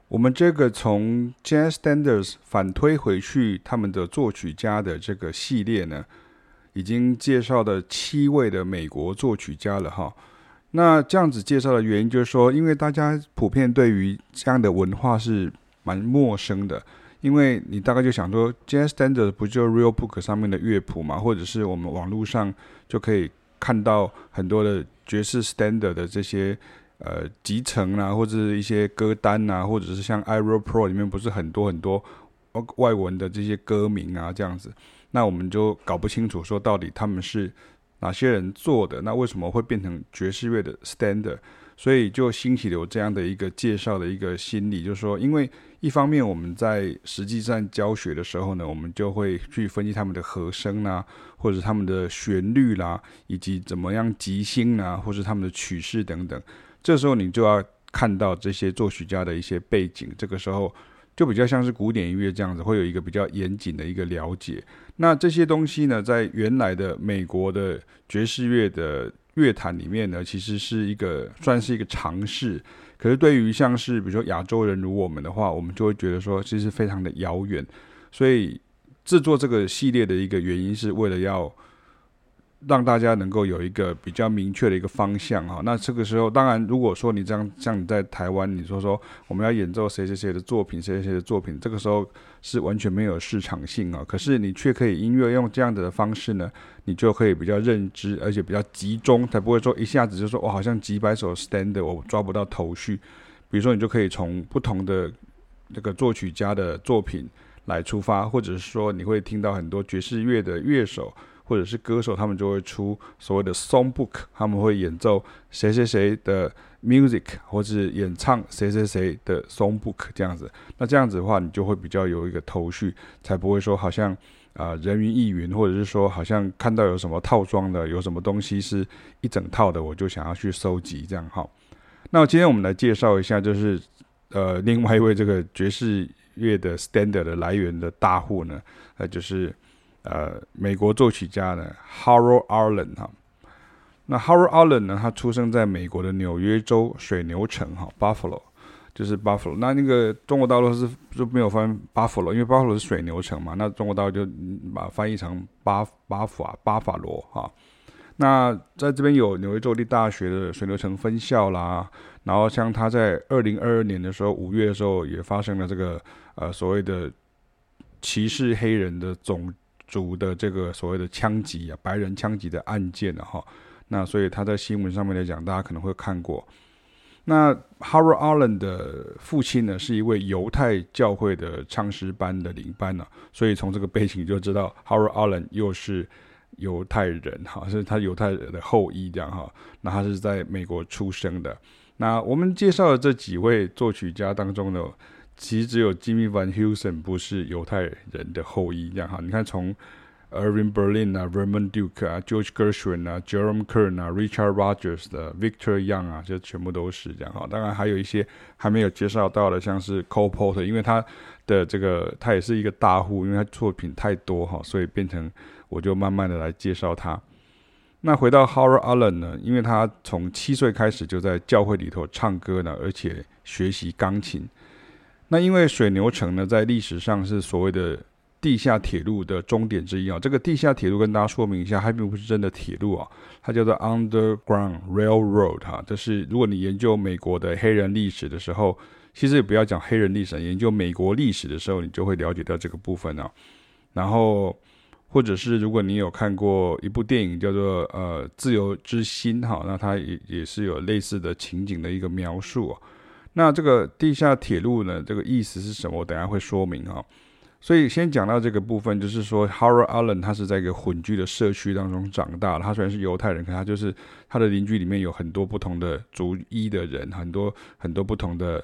我們這個從 Jazz Standards 反推回去他們的作曲家的這個系列呢，已經介紹了7位的美國作曲家了哈。那這樣子介紹的原因就是說，因為大家普遍對於這樣的文化是蠻陌生的，因為你大概就想說 Jazz Standards 不就 Real Book 上面的樂譜嘛，或者是我們網絡上就可以看到很多的爵士 Standard 的這些集成啊，或者是一些歌單啊，或者是像 iReal Pro 裡面不是很多外文的這些歌名啊，這樣子，那我們就搞不清楚說到底他們是哪些人做的，那為什麼會變成爵士樂的 Standard？ 所以就興起了有這樣的一個介紹的一個心理，就是說，因為一方面我們在實際上教學的時候呢，我們就會去分析他們的和聲啦，或者他們的旋律啦，以及怎麼樣即興啊，或是他們的曲式等等。這時候你就要看到這些作曲家的一些背景，這個時候就比較像是古典音樂這樣子，會有一個比較嚴謹的一個了解。那這些東西呢，在原來的美國的爵士樂的樂壇裡面呢，其實是算是一個嘗試。可是對於像是比如說亞洲人如我們的話，我們就會覺得說其實非常的遙遠。所以制作這個系列的一個原因是為了要讓大家能夠有一個比較明確的一個方向哈。那這個時候，當然如果說你這樣，像你在台灣，你說我們要演奏誰誰誰的作品，誰誰誰的作品，這個時候是完全沒有市場性啊。可是你卻可以音樂用這樣的方式呢，你就可以比較認知，而且比較集中，才不會說一下子就說我好像幾百首 standard 我抓不到頭緒。比如說，你就可以從不同的這個作曲家的作品來出發，或者是說你會聽到很多爵士樂的樂手或者是歌手，他們就會出所謂的 songbook， 他們會演奏誰誰誰的 music， 或是演唱誰誰誰的 songbook 這樣子。那這樣子的話，你就會比較有一個頭緒，才不會說好像人云亦云，或者是說好像看到有什麼套裝的，有什麼東西是一整套的，我就想要去收集這樣哈。那今天我們來介紹一下，就是另外一位這個爵士樂的 standard 的來源的大戶呢，就是美國作曲家呢 Harold Arlen 哈。那 Harold Arlen 呢，他出生在美國的紐約州水牛城哈 Buffalo， 就是 Buffalo。那個中國大陸就沒有翻 Buffalo， 因為 Buffalo 是水牛城嘛，那中國大陸就把它翻譯成巴法羅哈。那在這邊有紐約州立大學的水牛城分校啦，然後像他在2022年的時候5月的時候也發生了這個所謂的歧視黑人的種族的這個所謂的槍擊啊，白人槍擊的案件啊哈。那所以他在新聞上面來講，大家可能會看過。那 Harold Arlen 的父親呢，是一位猶太教會的唱詩班的領班啊，所以從這個背景就知道 Harold Arlen 又是猶太人哈，是他猶太人的後裔這樣哈。那他是在美國出生的。那我們介紹的這幾位作曲家當中呢，其實只有 Jimmy Van Heusen 不是猶太人的後裔這樣哈。你看從Irving Berlin 啊 ，Vernon Duke 啊 ，George Gershwin 啊 ，Jerome Kern 啊 ，Richard Rodgers 的 Victor Young 啊，這全部都是這樣哈。當然還有一些還沒有介紹到的，像是 Cole Porter， 因為他的他也是一個大戶，因為他作品太多哈，所以變成我就慢慢的來介紹他。那回到 Harold Arlen 呢，因為他從7歲開始就在教會裡頭唱歌呢，而且學習鋼琴。那因為水牛城呢，在歷史上是所謂的地下鐵路的終點之一啊，這個地下鐵路跟大家說明一下，它並不是真的鐵路啊，它叫做 Underground Railroad 哈。這是如果你研究美國的黑人歷史的時候，其實也不要講黑人歷史，研究美國歷史的時候，你就會了解到這個部分啊。然後或者是如果你有看過一部電影叫做自由之心哈，那它也是有類似的情景的一個描述啊。那這個地下鐵路呢，這個意思是什麼？我等一下會說明哈。所以先講到這個部分，就是說 Harold Arlen 他是在一個混居的社區當中長大的。他雖然是猶太人，可他就是他的鄰居裡面有很多不同的族裔的人，很多不同的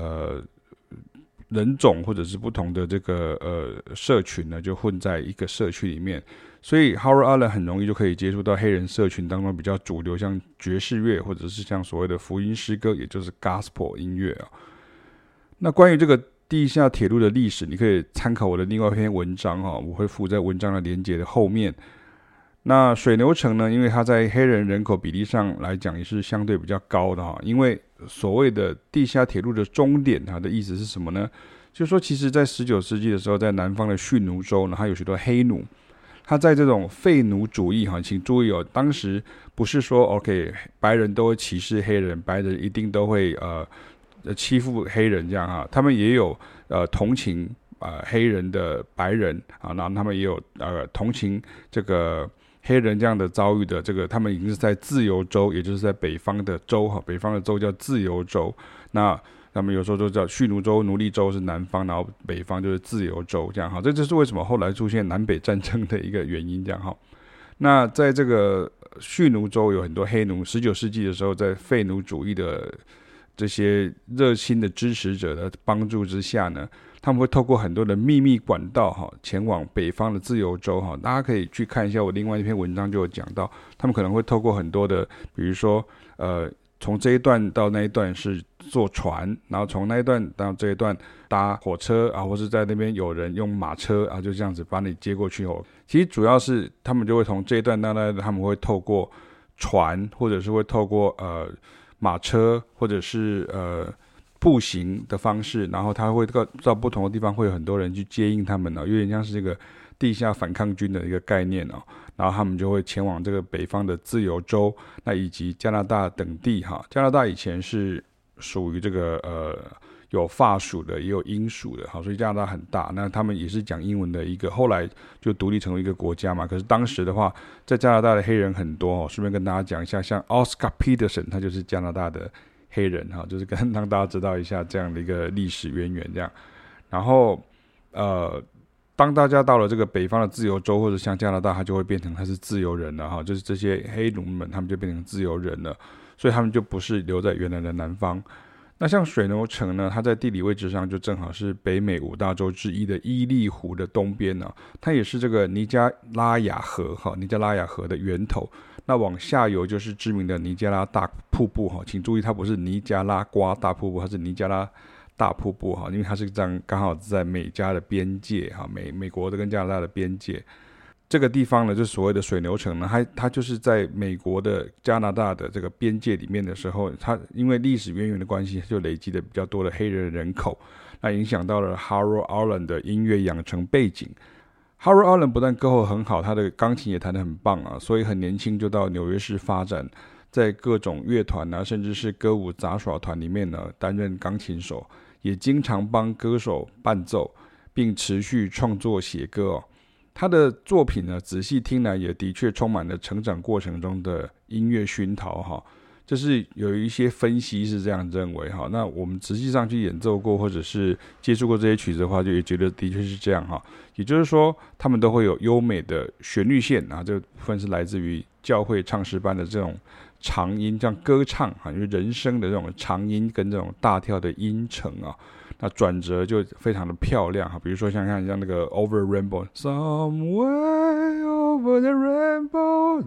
人種或者是不同的這個社群呢，就混在一個社區裡面。所以 Harold Arlen 很容易就可以接觸到黑人社群當中比較主流，像爵士樂或者是像所謂的福音詩歌，也就是 Gospel 音樂啊。那關於這個地下鐵路的歷史，你可以參考我的另外一篇文章哈，我會附在文章的連結的後面。那水牛城呢，因為它在黑人人口比例上來講也是相對比較高的哈，因為所謂的地下鐵路的終點，它的意思是什麼呢？就是說，其實在19世紀的時候，在南方的蓄奴州呢，它有許多黑奴。他在這種廢奴主義哈，請注意哦，當時不是說 OK 白人都會歧視黑人，白人一定都會欺負黑人這樣哈，他們也有同情黑人的白人啊，然後他們也有同情這個黑人這樣的遭遇的這個，他們已經是在自由州，也就是在北方的州哈，北方的州叫自由州，那他們有時候都叫蓄奴州、奴隸州是南方，然後北方就是自由州這樣哈，這就是為什麼後來出現南北戰爭的一個原因這樣哈。那在這個蓄奴州有很多黑奴，19世紀的時候，在廢奴主義的這些熱心的支持者的幫助之下呢，他們會透過很多的秘密管道哈，前往北方的自由州哈。大家可以去看一下我另外一篇文章，就有講到，他們可能會透過很多的，比如說從這一段到那一段是坐船，然後從那一段到這一段搭火車啊，或是在那邊有人用馬車啊，就這樣子把你接過去哦。其實主要是他們就會從這一段到那一段，他們會透過船，或者是會透過馬車，或者是步行的方式，然後他會到不同的地方，會有很多人去接應他們哦，有點像是這個地下反抗軍的一個概念哦。然後他們就會前往這個北方的自由州，那以及加拿大等地哈。加拿大以前是屬於這個有法屬的，也有英屬的，好，所以加拿大很大。那他們也是講英文的一個，後來就獨立成為一個國家嘛。可是當時的話，在加拿大的黑人很多哦。順便跟大家講一下，像 Oscar Peterson， 他就是加拿大的黑人哈，就是讓大家知道一下這樣的一個歷史淵源這樣。然後當大家到了這個北方的自由州，或者像加拿大，他就會變成他是自由人了哈，就是這些黑奴們，他們就變成自由人了，所以他們就不是留在原來的南方。那像水牛城呢，它在地理位置上就正好是北美5大洲之一的伊利湖的東邊呢，它也是這個尼加拉雅河哈，尼加拉雅河的源頭。那往下游就是知名的尼加拉大瀑布哈，請注意，它不是尼加拉瓜大瀑布，它是尼加拉大瀑布哈，因為它是這樣剛好在美加的邊界哈，美國的跟加拿大的邊界。這個地方呢，就是所謂的水牛城呢，它就是在美國的加拿大的這個邊界裡面的時候，它因為歷史淵源的關係，就累積了比較多的黑人口，那影響到了 Harold Arlen 的音樂養成背景。Harold Arlen 不但歌喉很好，他的鋼琴也彈得很棒啊，所以很年輕就到紐約市發展，在各種樂團啊，甚至是歌舞雜耍團裡面呢，擔任鋼琴手，也經常幫歌手伴奏，並持續創作寫歌哦。他的作品呢，仔細聽來也的確充滿了成長過程中的音樂熏陶哈。這是有一些分析是這樣認為哈。那我們實際上去演奏過或者是接觸過這些曲子的話，就也覺得的確是這樣哈。也就是說，他們都會有優美的旋律線啊，這部分是來自於教會唱詩班的這種長音，這樣歌唱啊，因為人聲的這種長音跟這種大跳的音程啊。那轉折就非常的漂亮哈，比如說像那個 Over Rainbow Somewhere Over the Rainbow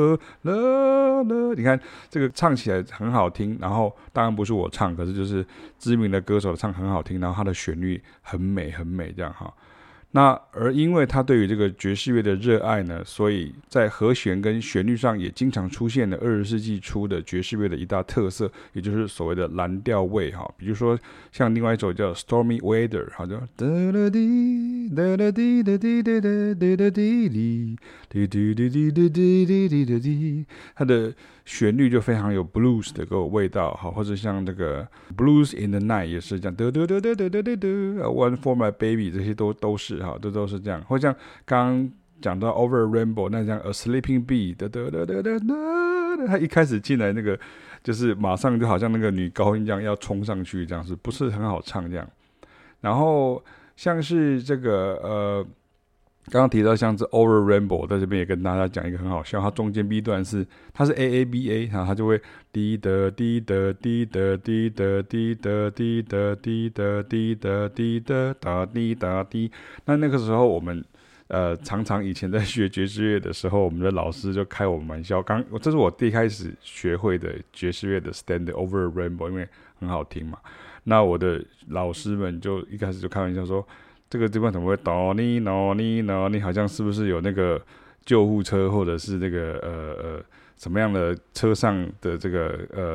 the 你看這個唱起來很好聽，然後當然不是我唱，可是就是知名的歌手唱很好聽，然後它的旋律很美很美這樣哈。那而因為他對於這個爵士樂的熱愛呢，所以在和弦跟旋律上也經常出現了20世紀初的爵士樂的一大特色，也就是所謂的藍調味哈。比如說像另外一首叫 Stormy Weather， 好像噠噠滴噠噠滴噠滴噠噠噠噠滴哩滴滴滴滴滴滴滴滴滴滴，它的旋律就非常有 blues 的個味道哈，或者像這個 Blues in the Night 也是這樣，噠噠噠噠噠噠噠噠 One for my baby， 這些都是哈，都是這樣。或像剛剛講到 Over Rainbow， 那像 A Sleeping Bee， 噠噠噠噠噠噠，他一開始進來那個就是馬上就好像那個女高音這樣要衝上去，這樣是不是很好唱這樣？然後像是這個剛剛提到像是 Over Rainbow， 在這邊也跟大家講一個很好笑，它中間 B 段它是 AABA， 然後它就會滴的滴的滴的滴的滴的滴的滴的滴的滴的噠滴噠滴。那個時候我們常常以前在學爵士樂的時候，我們的老師就開我們玩笑，這是我第一開始學會的爵士樂的 Standard Over Rainbow， 因為很好聽嘛。那我的老師們就一開始就開玩笑說，這個地方怎麼會哆你哆你哆你，好像是不是有那個救護車或者是那個什麼樣的車上的這個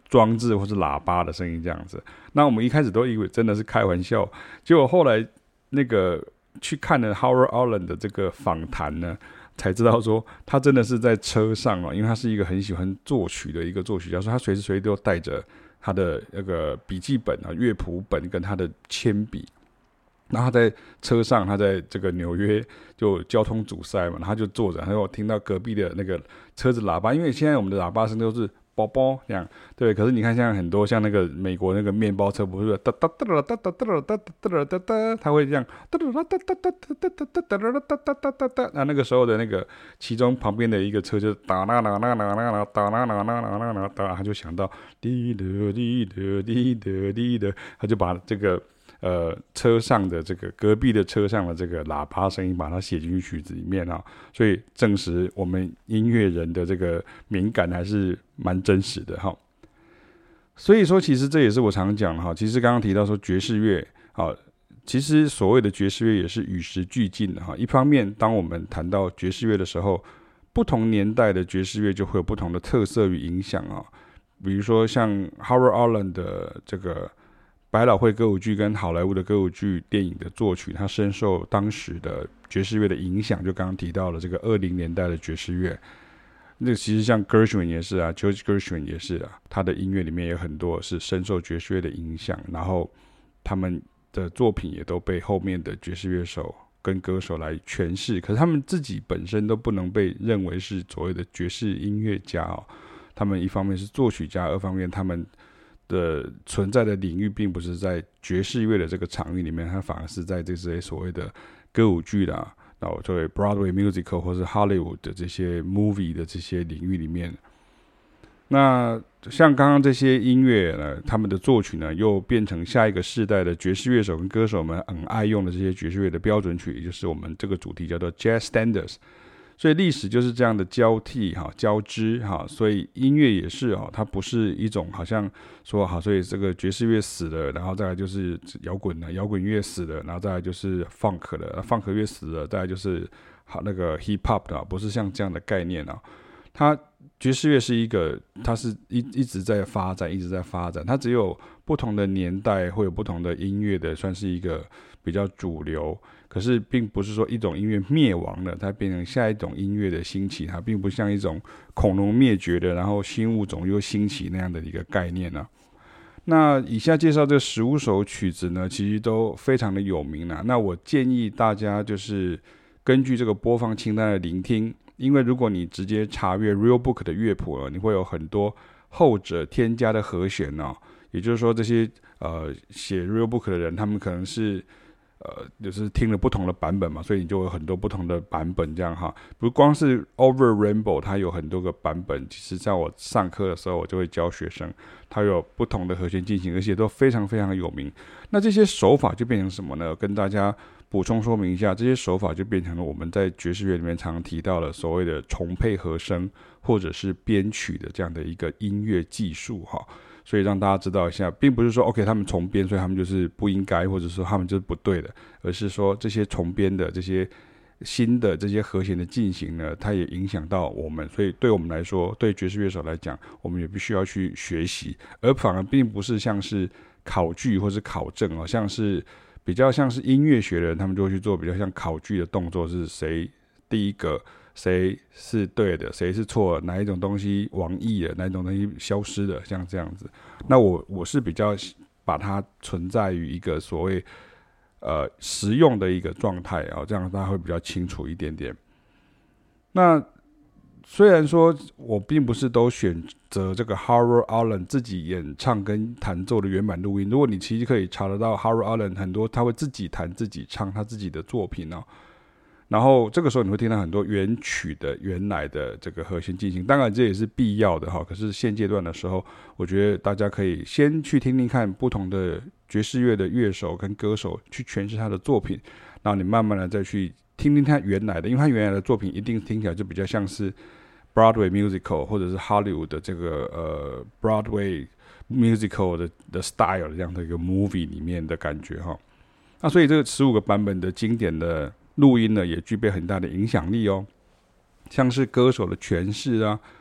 裝置或是喇叭的聲音這樣子。那我們一開始都以為真的是開玩笑，結果後來那個去看了 Howard Arlen 的這個訪談呢，才知道說他真的是在車上因為他是一個很喜歡作曲的一個作曲家，所以他隨時隨地都帶着他的那個筆記本樂譜本跟他的鉛筆。然後他在車上，他在這個紐約就交通阻塞嘛，他就坐着，然後聽到隔壁的那個車子喇叭，因為現在我們的喇叭聲都是啵啵這樣，對。可是你看，像很多像那個美國那個麵包車，不是噠噠噠噠噠噠噠噠噠噠噠，他會這樣噠噠噠噠噠噠噠噠噠噠噠噠，那個時候的那個其中旁邊的一個車就噠啦啦啦啦啦啦噠啦啦啦啦啦噠，他就想到滴的滴的滴的滴的，他就把這個。車上的這個隔壁的車上的這個喇叭聲音，把它寫進去曲子裡面啊，所以證實我們音樂人的這個敏感還是蠻真實的哈。所以說，其實這也是我常講的哈。其實剛剛提到說爵士樂啊，其實所謂的爵士樂也是與時俱進的哈。一方面，當我們談到爵士樂的時候，不同年代的爵士樂就會有不同的特色與影響啊。比如說像 Howard Arlen 的這個。百老匯歌舞劇跟好萊塢的歌舞劇電影的作曲，它深受當時的爵士樂的影響。就剛剛提到了這個20年代的爵士樂，那其實像 Gershwin 也是啊 ，George Gershwin 也是啊，他的音樂裡面有很多是深受爵士樂的影響，然後他們的作品也都被後面的爵士樂手跟歌手來詮釋。可是他們自己本身都不能被認為是所謂的爵士音樂家哦，他們一方面是作曲家，二方面他們的存在的領域並不是在爵士樂的這個場域裡面，它反而是在這些所謂的歌舞劇啦，然後作為 Broadway musical 或是 Hollywood 的這些 movie 的這些領域裡面。那像剛剛這些音樂呢，他們的作曲呢，又變成下一個世代的爵士樂手跟歌手們很愛用的這些爵士樂的標準曲，也就是我們這個主題叫做 Jazz Standards。所以歷史就是這樣的交替交織所以音樂也是它不是一種好像說所以這個爵士樂死了，然後再來就是搖滾了，搖滾樂死了，然後再來就是 funk 了，funk 樂死了，再來就是那個 hip hop 的，不是像這樣的概念它爵士樂是一個，它是一直在發展，一直在發展，它只有不同的年代會有不同的音樂的，算是一個比較主流。可是並不是說一種音樂滅亡了，它變成下一種音樂的興起，它並不像一種恐龍滅絕的，然後新物種又興起那樣的一個概念啊。那以下介紹這15首曲子呢，其實都非常的有名啊。那我建議大家就是根據這個播放清單的聆聽，因為如果你直接查閱 Real Book 的樂譜你會有很多後者添加的和弦也就是說這些寫 Real Book 的人，他們可能是就是聽了不同的版本嘛，所以你就有很多不同的版本這樣哈。不光是 Over Rainbow 它有很多個版本，其實在我上課的時候我就會教學生，它有不同的和弦進行，而且都非常非常的有名。那這些手法就變成什麼呢？跟大家補充說明一下，這些手法就變成了我們在爵士樂裡面常常提到的所謂的重配和聲或者是編曲的這樣的一個音樂技術哈。所以讓大家知道一下，並不是說 OK 他們重編，所以他們就是不應該，或者說他們就是不對的，而是說這些重編的這些新的這些和弦的進行呢，它也影響到我們，所以對我們來說，對爵士樂手來講，我們也必須要去學習，而反而並不是像是考據或是考證像是比較像是音樂學的人，他們就會去做比較像考據的動作，是誰第一個。誰是對的，誰是錯的，哪一種東西亡佚了，哪一種東西消失了，像這樣子。那我是比較把它存在於一個所謂實用的一個狀態這樣大家會比較清楚一點點。那雖然說我並不是都選擇這個 Howard Arlen 自己演唱跟彈奏的原版錄音，如果你其實可以查得到 Howard Arlen 很多他會自己彈自己唱他自己的作品然後這個時候你會聽到很多原曲的原來的這個和弦進行，當然這也是必要的可是現階段的時候，我覺得大家可以先去聽聽看不同的爵士樂的樂手跟歌手去詮釋他的作品，然後你慢慢的再去聽聽他原來的，因為他原來的作品一定聽起來就比較像是 Broadway musical 或者是 Hollywood 的這個Broadway musical 的 style 的這樣的一個 movie 裡面的感覺那所以這個15個版本的經典的錄音呢，也具備很大的影響力像是歌手的詮釋樂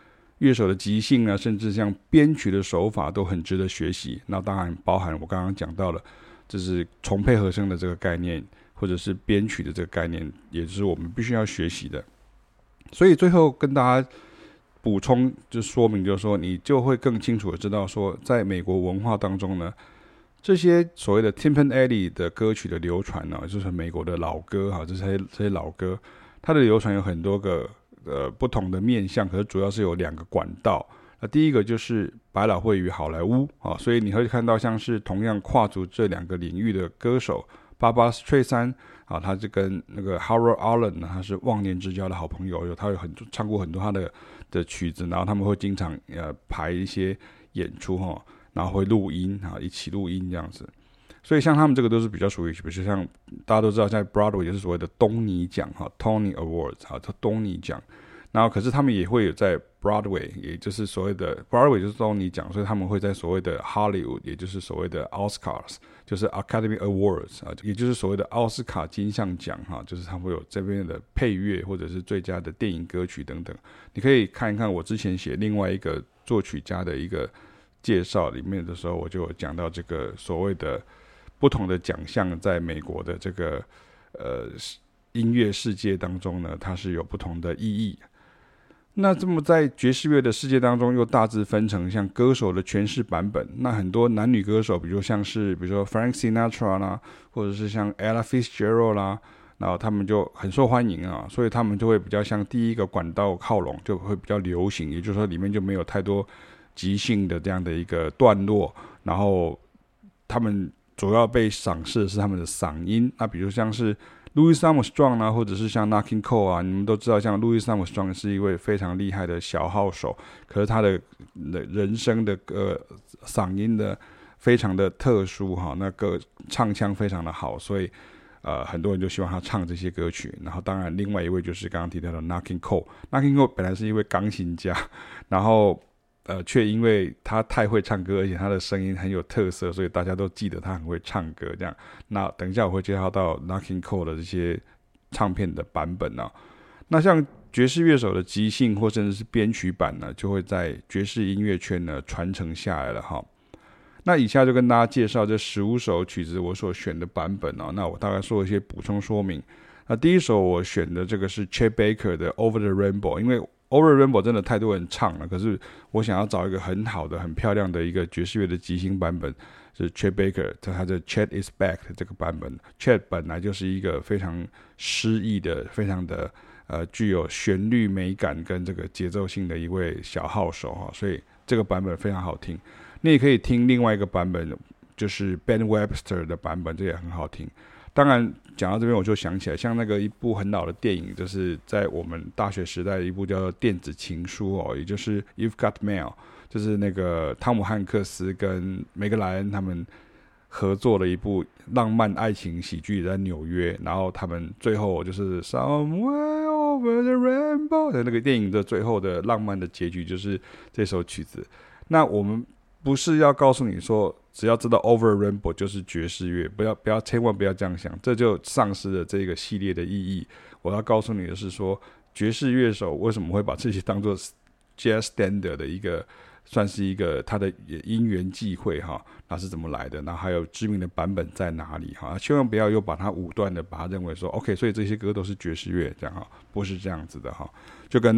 樂手的即興啊，甚至像編曲的手法都很值得學習。那當然包含我剛剛講到了，就是重配和聲的這個概念，或者是編曲的這個概念，也就是我們必須要學習的。所以最後跟大家補充就說明，就是說你就會更清楚的知道說，在美國文化當中呢，這些所謂的 Tim Panelli 的歌曲的流傳呢，就是美國的老歌哈，這些老歌，它的流傳有很多個不同的面向，可是主要是有2個管道。那第一個就是百老匯與好萊塢啊，所以你會看到像是同樣跨足這2個領域的歌手Barbra Streisand啊，他就跟那個 Harold Arlen 呢，他是忘年之交的好朋友，他有唱過很多他的曲子，然後他們會經常排一些演出哈，然后會錄音啊，一起錄音這樣子。所以像他們這個都是比較屬於，比如像大家都知道，在 Broadway 就是所謂的東尼獎哈 ，Tony Awards 哈，叫東尼獎。然後可是他們也會有在 Broadway， 也就是所謂的 Broadway 就是東尼獎，所以他們會在所謂的 Hollywood， 也就是所謂的 Oscars， 就是 Academy Awards 啊，也就是所謂的奧斯卡金像獎哈，就是他們會有這邊的配樂或者是最佳的電影歌曲等等。你可以看一看我之前寫另外一個作曲家的一個介紹裡面的時候，我就有講到這個所謂的不同的獎項在美國的這個音樂世界當中呢，它是有不同的意義。那這麼在爵士樂的世界當中，又大致分成像歌手的詮釋版本。那很多男女歌手，比如說 Frank Sinatra 啦，或者是像 Ella Fitzgerald 啦，然後他們就很受歡迎啊，所以他們就會比較向第一個管道靠攏，就會比較流行。也就是說，裡面就沒有太多即興的這樣的一個段落，然後他們主要被賞識的是他們的嗓音。那比如像是Louis Armstrong 啊，或者是像 Nat King Cole 啊，你們都知道，像 Louis Armstrong 是一位非常厲害的小號手，可是他的人声的嗓音的非常的特殊哈，那个唱腔非常的好，所以很多人就希望他唱这些歌曲。然後當然另外一位就是剛剛提到的 Nat King Cole，Nat King Cole 本來是一位鋼琴家，然後卻因為他太會唱歌，而且他的聲音很有特色，所以大家都記得他很會唱歌。這樣，那等一下我會介紹到 Nat King Cole 的這些唱片的版本啊。那像爵士樂手的即興或甚至是編曲版呢，就會在爵士音樂圈呢傳承下來了哈。那以下就跟大家介紹這15首曲子我所選的版本啊。那我大概做一些補充說明。那第一首我選的這個是 Chet Baker 的 Over the Rainbow， 因為Over the Rainbow 真的太多人唱了，可是我想要找一個很好的、很漂亮的一個爵士樂的即興版本，是 Chet Baker 他的 Chet is Back 的這個版本。Chet 本來就是一個非常詩意的、非常的具有旋律美感跟這個節奏性的一位小號手哈，所以這個版本非常好聽。你也可以聽另外一個版本，就是 Ben Webster 的版本，這也很好聽。當然講到這邊我就想起來，像那個一部很老的電影，就是在我們大學時代的一部叫做《電子情書》哦，也就是 You've Got Mail， 就是那個湯姆漢克斯跟梅格萊恩他們合作的一部浪漫愛情喜劇，在紐約，然後他們最後就是 Somewhere Over the Rainbow 的那個電影的最後的浪漫的結局就是這首曲子。那我們不是要告訴你說只要知道 Over the Rainbow 就是爵士樂，不要千萬不要這樣想，這就喪失了這個系列的意義。我要告訴你的是說，爵士樂手為什麼會把這些當作 Jazz Standard 的一個，算是一個他的因緣際會哈，那是怎麼來的？然後還有知名的版本在哪裡哈？千萬不要又把它武斷的把它認為說 OK， 所以這些歌都是爵士樂這樣哈，不是這樣子的哈。就跟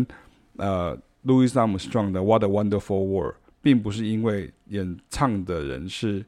Louis Armstrong 的 What a Wonderful World， 並不是因為演唱的人是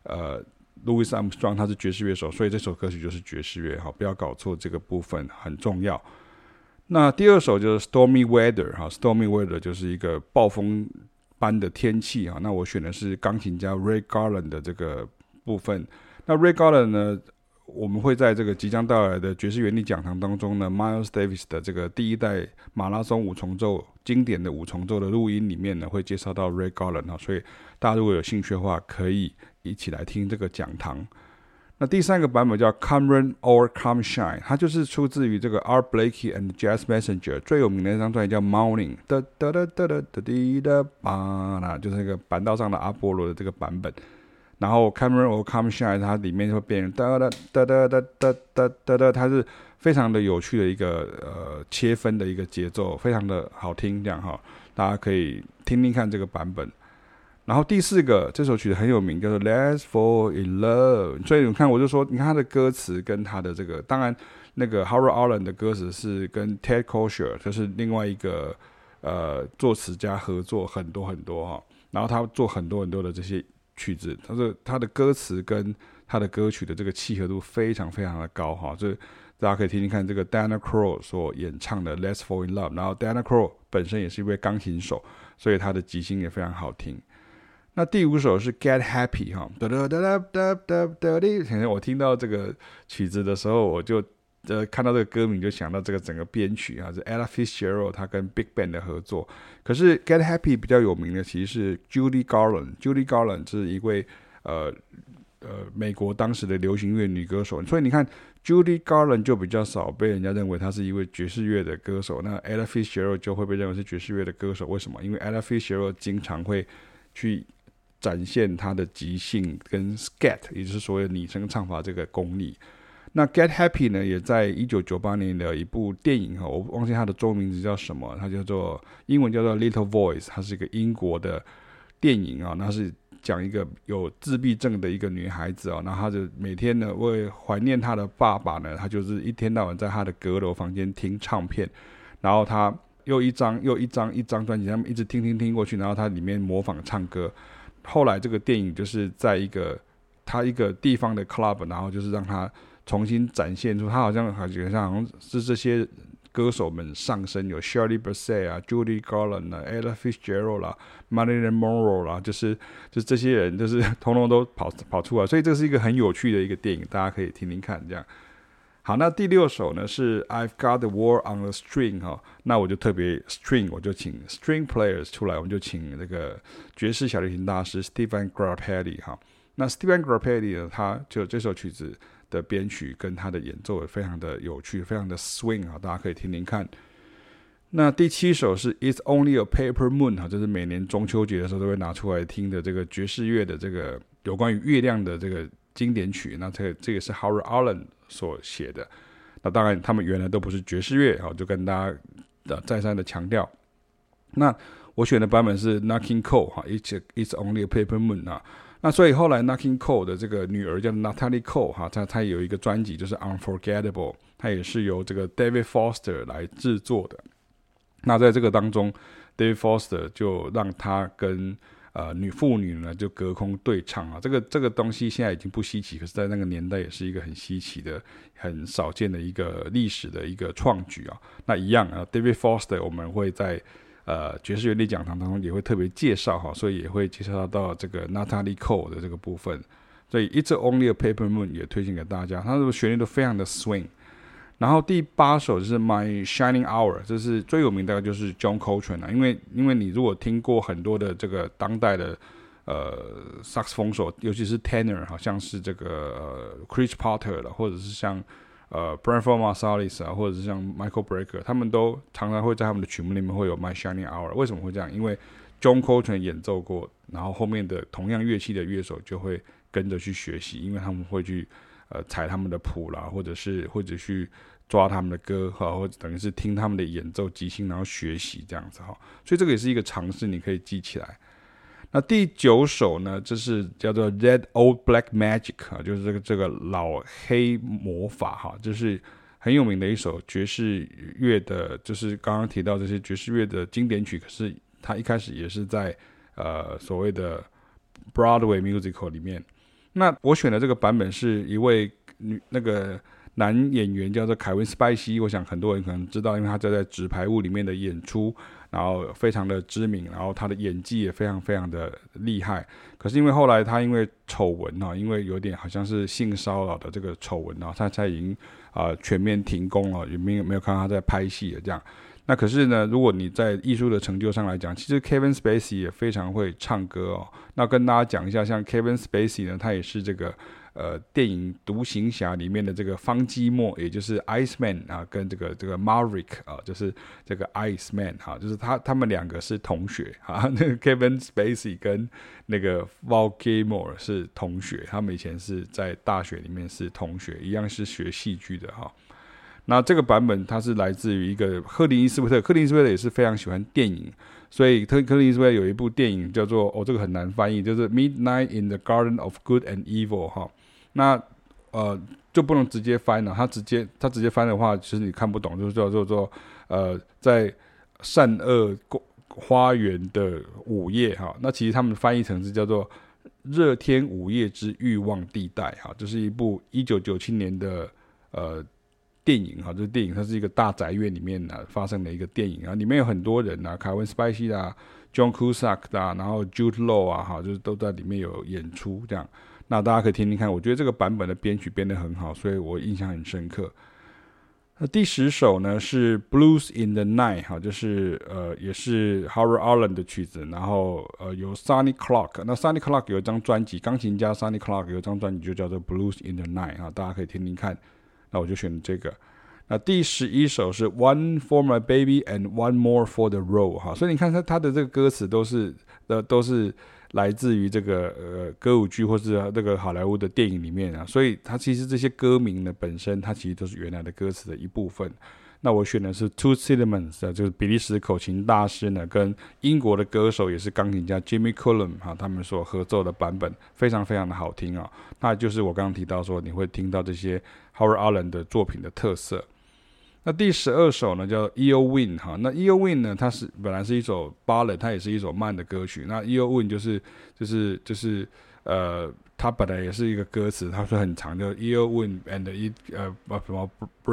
Louis Armstrong 他是爵士樂手，所以這首歌曲就是爵士樂哈，不要搞錯這個部分很重要。那第二首就是 Stormy Weather 哈 ，Stormy Weather 就是一個暴風般的天氣哈。那我選的是鋼琴家 Ray Garland 的這個部分。那 Ray Garland 呢，我們會在這個即將到來的爵士原力講堂當中呢 ，Miles Davis 的這個第一代馬拉松五重奏經典的五重奏的錄音裡面呢，會介紹到 Ray Garland 哈。所以大家如果有興趣的話，可以一起來聽這個講堂。那第三個版本叫 Come Rain or Come Shine， 它就是出自於這個 Art Blakey and Jazz Messenger 最有名的一張專輯叫 Morning， 噠噠噠噠噠噠滴噠吧，就是那個板道上的阿波羅的這個版本。然後 Come Rain or Come Shine 它裡面會變成噠噠噠噠噠噠噠噠噠，它是非常的有趣的一個切分的一個節奏，非常的好聽這樣哈。 大家可以聽聽看這個版本。然後第4個，這首曲子很有名，叫做 Let's Fall in Love。所以你看，我就說，你看他的歌詞跟他的這個，當然那個 Harold Arlen 的歌詞是跟 Ted Kosher， 就是另外一個作詞家合作很多很多哈。然后他做很多很多的這些曲子，他的歌詞跟他的歌曲的這個契合度非常非常的高哈。所以大家可以聽聽看這個 Diana Krall 所演唱的 Let's Fall in Love。然後 Diana Krall 本身也是一位鋼琴手，所以他的即興也非常好聽。那第5首是 Get Happy 哈，我聽到這個曲子的時候，我就看到這個歌名就想到這個整個編曲啊，是 Ella Fitzgerald 他跟 Big Band 的合作。可是 Get Happy 比較有名的其實是 Judy Garland。Judy Garland 是一位美國當時的流行樂女歌手，所以你看 Judy Garland 就比較少被人家認為她是一位爵士樂的歌手，那 Ella Fitzgerald 就會被認為是爵士樂的歌手。為什麼？因為 Ella Fitzgerald 經常會去展現他的即興跟 scat， 也就是所謂的擬聲唱法這個功力。那 Get Happy 呢，也在1998年的一部電影，我忘記它的中文名字叫什麼，它叫做英文叫做 Little Voice， 它是一個英國的電影啊，那是講一個有自閉症的一個女孩子啊，然後她就每天呢為懷念她的爸爸呢，她就是一天到晚在她的閣樓房間聽唱片，然後她又一張專輯，他們一直聽過去，然後她裡面模仿唱歌。後來這個電影就是在一個地方的 club， 然後就是讓他重新展現出他好像是這些歌手們上身，有 Shirley Bassey 啊、Judy Garland 啊、Ella Fitzgerald 啦、Marilyn Monroe 啦，就是這些人就是通通都跑出來，所以這是一個很有趣的一個電影，大家可以聽聽看這樣。好，那第6首呢是 I've Got the World on a String 哈，那我就特別 string， 我就請 string players 出来，我们就請這個爵士小提琴大師 Stephen Grappelli 哈。那 Stephen Grappelli 呢，他就這首曲子的編曲跟他的演奏也非常的有趣，非常的 swing 啊，大家可以聽聽看。那第7首是 It's Only a Paper Moon 哈，就是每年中秋節的時候都會拿出來聽的這個爵士樂的這個有關於月亮的這個經典曲。那這個是 Harold Arlen 所寫的。那當然他們原來都不是爵士樂，就跟大家再三的強調。那我選的版本是 Nat King Cole 哈 ，It's Only a Paper Moon 啊。那所以後來 Nat King Cole 的這個女兒叫 Natalie Cole 哈，她有一個專輯就是 Unforgettable， 她也是由這個 David Foster 來制作的。那在這個當中 ，David Foster 就讓她跟父女呢就隔空對唱啊，這個東西現在已經不稀奇，可是在那個年代也是一個很稀奇的、很少見的一個歷史的一個創舉啊。那一樣啊 ，David Foster 我們會在爵士樂歷講堂當中也會特別介紹哈，所以也會介紹到這個 Natalie Cole 的這個部分。所以 It's Only a Paper Moon 也推薦給大家，它的旋律都非常的 swing。然後第8首就是 My Shining Hour， 這是最有名的就是 John Coltrane 啊，因為你如果聽過很多的這個當代的薩克斯風手，尤其是 tenor， 好像是這個Chris Potter 了，或者是像Branford Marsalis 啊，或者是像 Michael Brecker， 他們都常常會在他們的曲目裡面會有 My Shining Hour。為什麼會這樣？因為 John Coltrane 演奏過，然後後面的同樣樂器的樂手就會跟着去學習，因為他們會去踩他們的譜啦，或者去抓他們的歌哈，或者等於是聽他們的演奏即興，然後學習這樣子哈。所以這個也是一個嘗試，你可以記起來。那第9首呢，這是叫做 That Old Black Magic 啊，就是這個老黑魔法哈，就是很有名的一首爵士樂的，就是剛剛提到這些爵士樂的經典曲，可是它一開始也是在所謂的 Broadway musical 裡面。那我選的這個版本是一位那個男演員叫做凱文·斯派西，我想很多人可能知道，因為他在紙牌屋裡面的演出，然後非常的知名，然後他的演技也非常非常的厲害。可是因為後來他因為醜聞因為有點好像是性騷擾的這個醜聞他已經全面停工了，也沒有看到他在拍戲了這樣。那可是呢，如果你在藝術的成就上來講，其實 Kevin Spacey 也非常會唱歌那跟大家講一下，像 Kevin Spacey 呢，他也是這個電影《獨行俠》裡面的這個方基莫，也就是 Iceman 跟這個 Maverick 就是這個 Iceman 就是他們兩個是同學那個 Kevin Spacey 跟那個 Val Kilmer 是同學，他們以前是在大學裡面是同學，一樣是學戲劇的那這個版本它是來自於一個赫林伊斯威特也是非常喜歡電影， 所以克林伊斯威特有一部電影叫做這個很難翻譯，就是 Midnight in the Garden of Good and Evil 哈。那就不能直接翻了，他直接翻的話，其實你看不懂，就是叫做在善惡花園的午夜哈。那其實他們翻譯成是叫做熱天午夜之慾望地帶哈，這是一部1997年的電影哈，就是電影它是一個大宅院裡面發生的一個電影啊，裡面有很多人啊，凱文·史派西啊、John Cusack 啊，然後 Jude Law 啊哈，就是都在裡面有演出這樣。那大家可以聽聽看，我覺得這個版本的編曲編得很好，所以我印象很深刻。那第10首呢是 Blues in the Night 哈，就是也是 Howard Arlen 的曲子，然後由 Sonny Clark， 那 Sonny Clark 有一張專輯，鋼琴家 Sonny Clark 有一張專輯就叫做 Blues in the Night 哈，大家可以聽聽看。那我就選這個。那第11首是 One for My Baby and One More for the Road 哈，所以你看他的這個歌詞都是來自於這個歌舞劇或是這個好萊塢的電影裡面啊，所以它其實這些歌名呢本身它其實都是原來的歌詞的一部分。那我選的是 Toots Thielemans 就是比利時口琴大師呢跟英國的歌手也是鋼琴家 Jimmy Cullum 哈，他們所合奏的版本非常非常的好聽啊。那就是我剛剛提到說你會聽到這些 Howard Arlen 的作品的特色。那第12首呢叫 Eowyn 哈，那 Eowyn 呢它本來是一首 ballad， 它也是一首慢的歌曲。那 Eowyn 就是它本来也是一個歌詞，它是很長的 Eowyn and it 什麼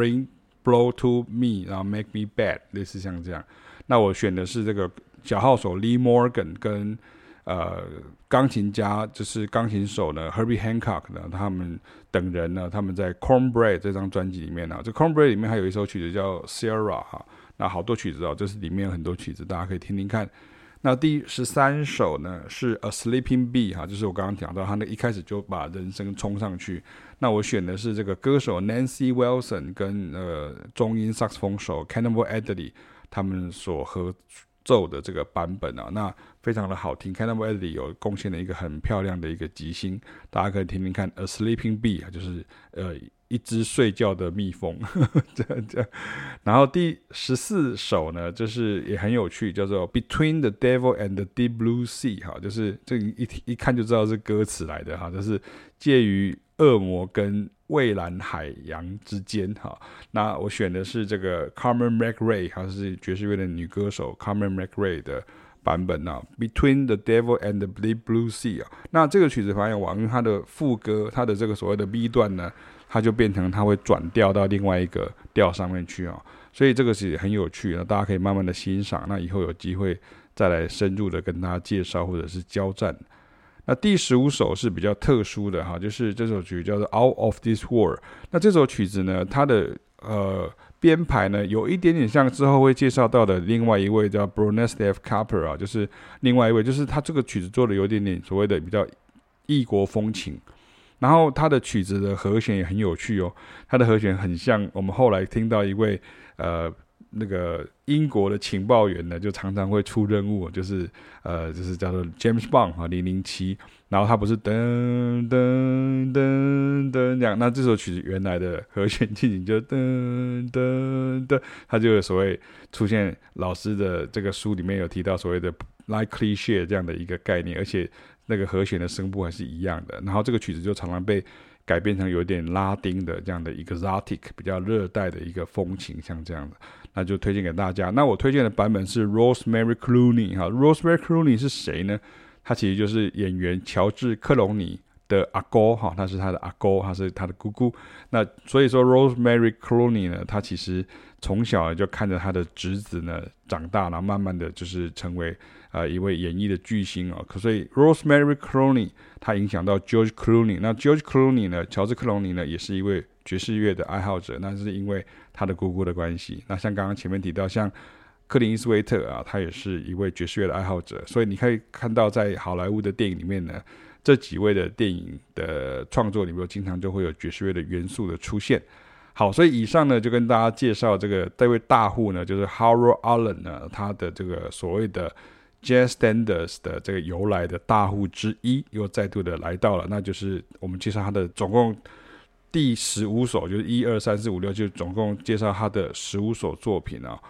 blow to me， 然後 make me bad， 類似像這樣。那我選的是這個小號手 Lee Morgan 跟鋼琴家就是鋼琴手呢 Herbie Hancock 呢，他們等人呢，他們在 Cornbread 這張專輯裡面呢，這 Cornbread 裡面還有一首曲子叫 Sierra 哈，那好多曲子這是裡面有很多曲子，大家可以聽聽看。那第13首呢是 A Sleeping Bee 哈，就是我剛剛講到他那一開始就把人聲衝上去。那我選的是這個歌手 Nancy Wilson 跟中音薩克斯風手 Cannonball Adderley 他們所合奏的這個版本啊，那非常的好聽。Cannonball Adderley 有貢獻了一個很漂亮的一個即興，大家可以听听看。A Sleeping Bee 就是一隻睡覺的蜜蜂，這樣。然後第14首呢，就是也很有趣，叫做 Between the Devil and the Deep Blue Sea 哈，就是這一看就知道是歌詞來的哈，就是介於惡魔跟蔚藍海洋之間哈。那我選的是這個 Carmen McRae， 她是爵士樂的女歌手 Carmen McRae 的版本啊 ，Between the Devil and the Deep Blue Sea 啊。那這個曲子非常晚，因為它的副歌，它的這個所謂的 B 段呢，它就變成它會轉調到另外一個調上面去啊，所以這個是很有趣的，大家可以慢慢的欣賞。那以後有機會再來深入的跟大家介紹或者是交戰。那第15首是比較特殊的哈，就是這首曲叫做 Out of This World。那這首曲子呢，它的編排呢有一點點像之後會介紹到的另外一位叫 Bronislaw Kapper 啊，就是另外一位，就是他這個曲子做的有點點所謂的比較異國風情。然後他的曲子的和弦也很有趣哦，他的和弦很像我們後來聽到一位那個英國的情報員呢，就常常會出任務，就是叫做 James Bond 哈007，然後他不是噔噔噔噔這樣，那這首曲子原來的和弦進行就噔噔噔，他就有所謂出現老師的這個書裡面有提到所謂的 like cliché 這樣的一個概念，而且那個和弦的聲部還是一樣的，然後這個曲子就常常被改編成有點拉丁的這樣的一個 exotic 比較熱帶的一個風情，像這樣的，那就推薦給大家。那我推薦的版本是 Rosemary Clooney 哈 ，Rosemary Clooney 是誰呢？他其實就是演員喬治克隆尼的阿哥哈，他是他的阿哥，他是他的姑姑。那所以說 Rosemary Clooney 呢，他其實從小就看着他的侄子呢長大，然後慢慢的就是成為一位演藝的巨星哦。所以 Rosemary Clooney 他影響到 George Clooney， 那 George Clooney 呢，喬治克隆尼呢也是一位爵士樂的愛好者，那是因為他的姑姑的關係。那像剛剛前面提到，像克林伊斯威特啊，他也是一位爵士樂的愛好者，所以你可以看到在好萊塢的電影裡面呢，這幾位的電影的創作裡面經常就會有爵士樂的元素的出現。好，所以以上呢就跟大家介紹這位大戶呢，就是 Howard Arlen 呢，他的這個所謂的 Jazz Standards 的這個由來的大戶之一，又再度的來到了，那就是我們介紹他的總共第15首，就是1、2、3、4、5、6，就總共介紹他的15首作品啊。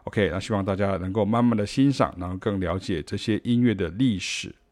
OK， 那希望大家能夠慢慢的欣賞，然後更了解這些音樂的歷史。